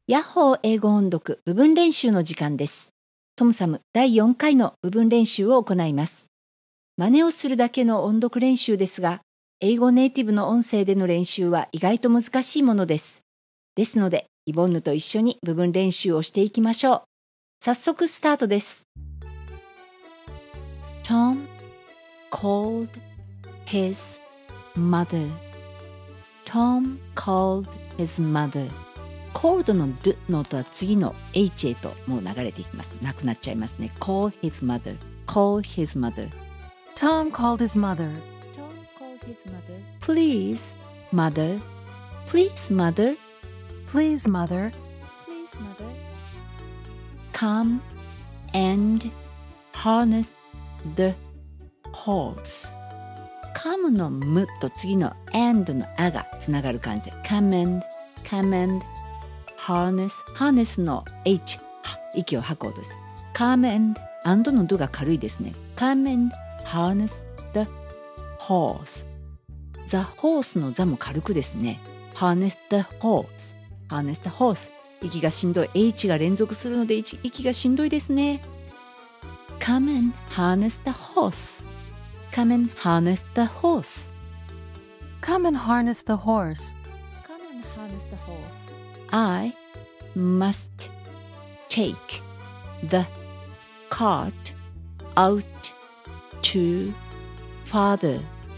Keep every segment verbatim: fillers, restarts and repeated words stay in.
ヤッホー英語音読部分練習の時間です。トムサムだいよんかいの部分練習を行います。真似をするだけの音読練習ですが、英語ネイティブの音声での練習は意外と難しいものです。ですので、イボンヌと一緒に部分練習をしていきましょう。早速スタートです。Tom called his mother. Tom called his mother. called の do の音は次の h へともう流れていきます。なくなっちゃいますね。call his mother. call his mother. Tom called his mother. Tom called his mother. Please, mother. Please, mother. Please, mother. Please, mother. Come and harness the horse. come のむと次の and のあがつながる感じで come and, come and harness, harness の h 息を吐く音です。come and, and の do が軽いですね。come and harness the horse. the horse の the も軽くですね。harness the horse, harness the horse. 息がしんどい h が連続するので息がしんどいですね。come and harness the horse. come and harness the horse. Come and harness the horse. come and harness the horse. I must take the cart out to father.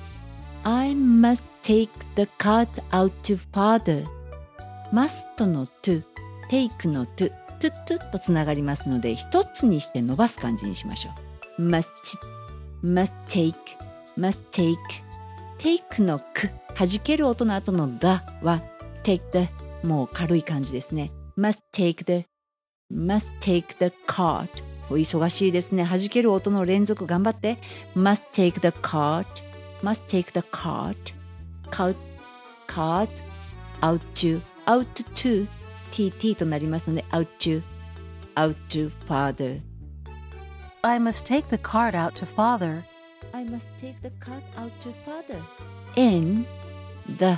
I must take the cart out to father. must の to, take の to, to, to とつながりますので一つにして伸ばす感じにしましょう。must, must take, must take. take の く、弾ける音の後の the は take the もう軽い感じですね。must take the, must take the cart. お忙しいですね。弾ける音の連続頑張って。must take the cart, must take the cart, cart, cart, out to, out to, tt となりますので out to, out to father. I must take the cart out to father. I must take the cart out to father. In the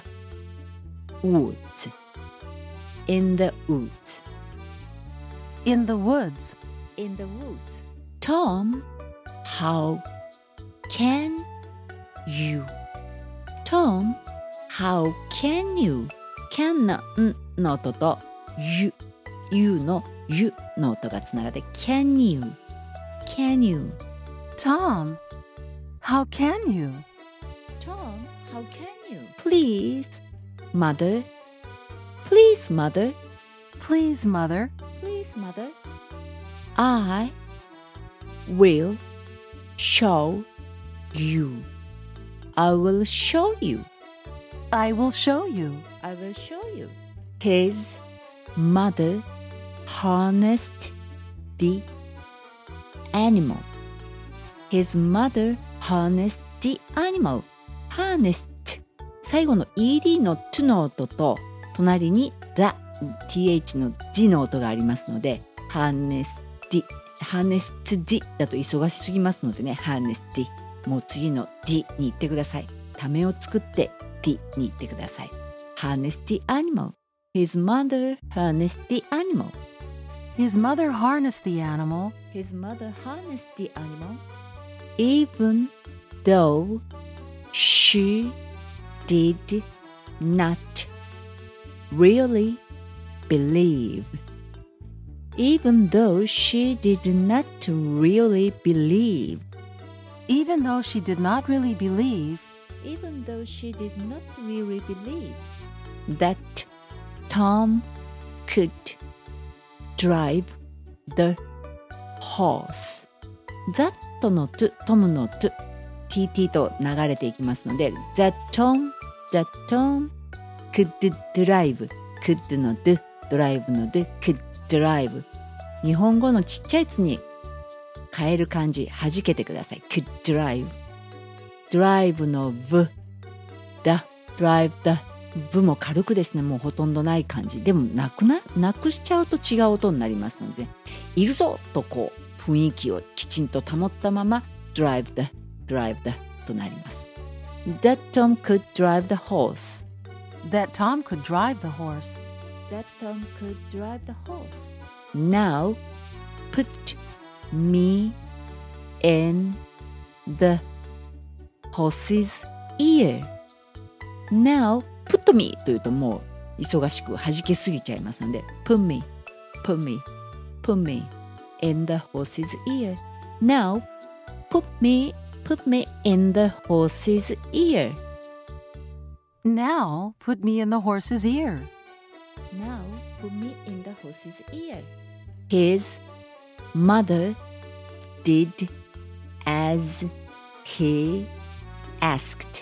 woods. In the woods. In the woods. In the woods. Tom, how can you? Tom, how can you? can のんの音と you, you の you の音がつながって can you? Can you? Tom, how can you? Tom, how can you? Please, mother. Please, mother. Please, mother. Please, mother. I will show you. I will show you. I will show you. I will show you. His mother harnessed the animal. His mother harnessed the animal. harnessed 最後の ed の to の音と隣に the, th の d の音がありますので harnessed the, harnessed the だと忙しすぎますのでね harnessed the もう次の d に行ってください。ためを作って d に行ってください。harnessed the animal. His mother harnessed the animal. His mother harnessed the animal. His mother harnessed the animal. Even though she did not really believe. Even though she did not really believe. Even though she did not really believe. Even though she did not really believe that Tom could drive the horse. that の to, トムの to, tt と流れていきますので that Tom, that Tom could drive. could の do, drive の do, could drive. 日本語のちっちゃいやつに変える漢字弾けてください。could drive. drive の v, the, drive the, v も軽くですね、もうほとんどない感じ。でもなくな、なくしちゃうと違う音になりますので、いるぞとこう雰囲気をきちんと保ったまま drive the, drive the となります。That Tom could drive the horse. That Tom could drive the horse. that Tom could drive the horse. Now, put me in the horse's ear. Now, put me というともう忙しく弾けすぎちゃいますので put me, put me, put me in the horse's ear. Now, put me, put me in the horse's ear. Now put me in the horse's ear. Now, put me in the horse's ear. His mother did as he asked.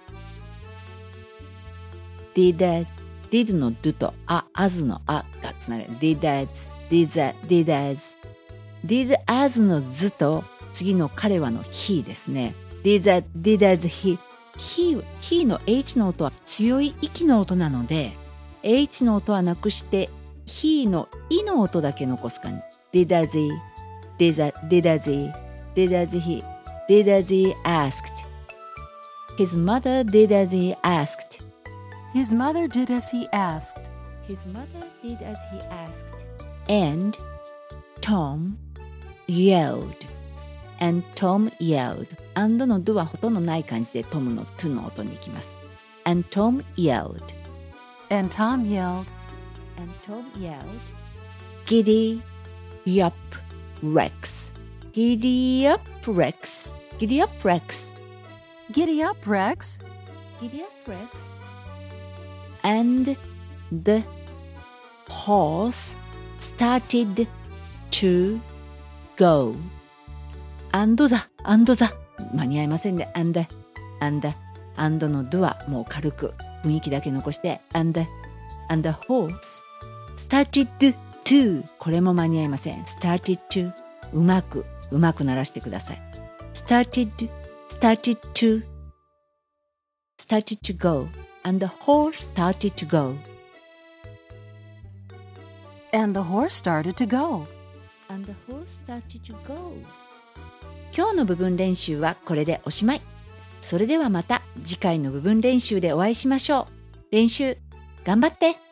Did as, did の do とあ、as のあがつながる。did as, did as, did as. did as の図と次の彼はの he ですね。did as, did as he. he, he の h の音は強い息の音なので、H の音はなくして、he のいの音だけ残す感じ。did as he, did as, did as he, did as he, did as he asked. His mother did as he asked. His mother did as he asked. His mother did as he asked. And Tom yelled. And Tom yelled. and の do はほとんどない感じで Tom の to の音に行きます。And Tom yelled.And Tom yelled. And Tom yelled, Giddy up, Rex. Giddy up, Rex. Giddy up, Rex. Giddy up, Rex. Giddy up, Rex. And the horse started to go. And だ、and だ。間に合いませんね。and, and, and の do はもう軽く。雰囲気だけ残して and, and the horse started to これも間に合いません started to うまくうまく鳴らしてください started started to started to go and the horse started to go and the horse started to go and the horse started to go 今日の部分練習はこれでおしまいそれではまた次回の部分練習でお会いしましょう。練習頑張って。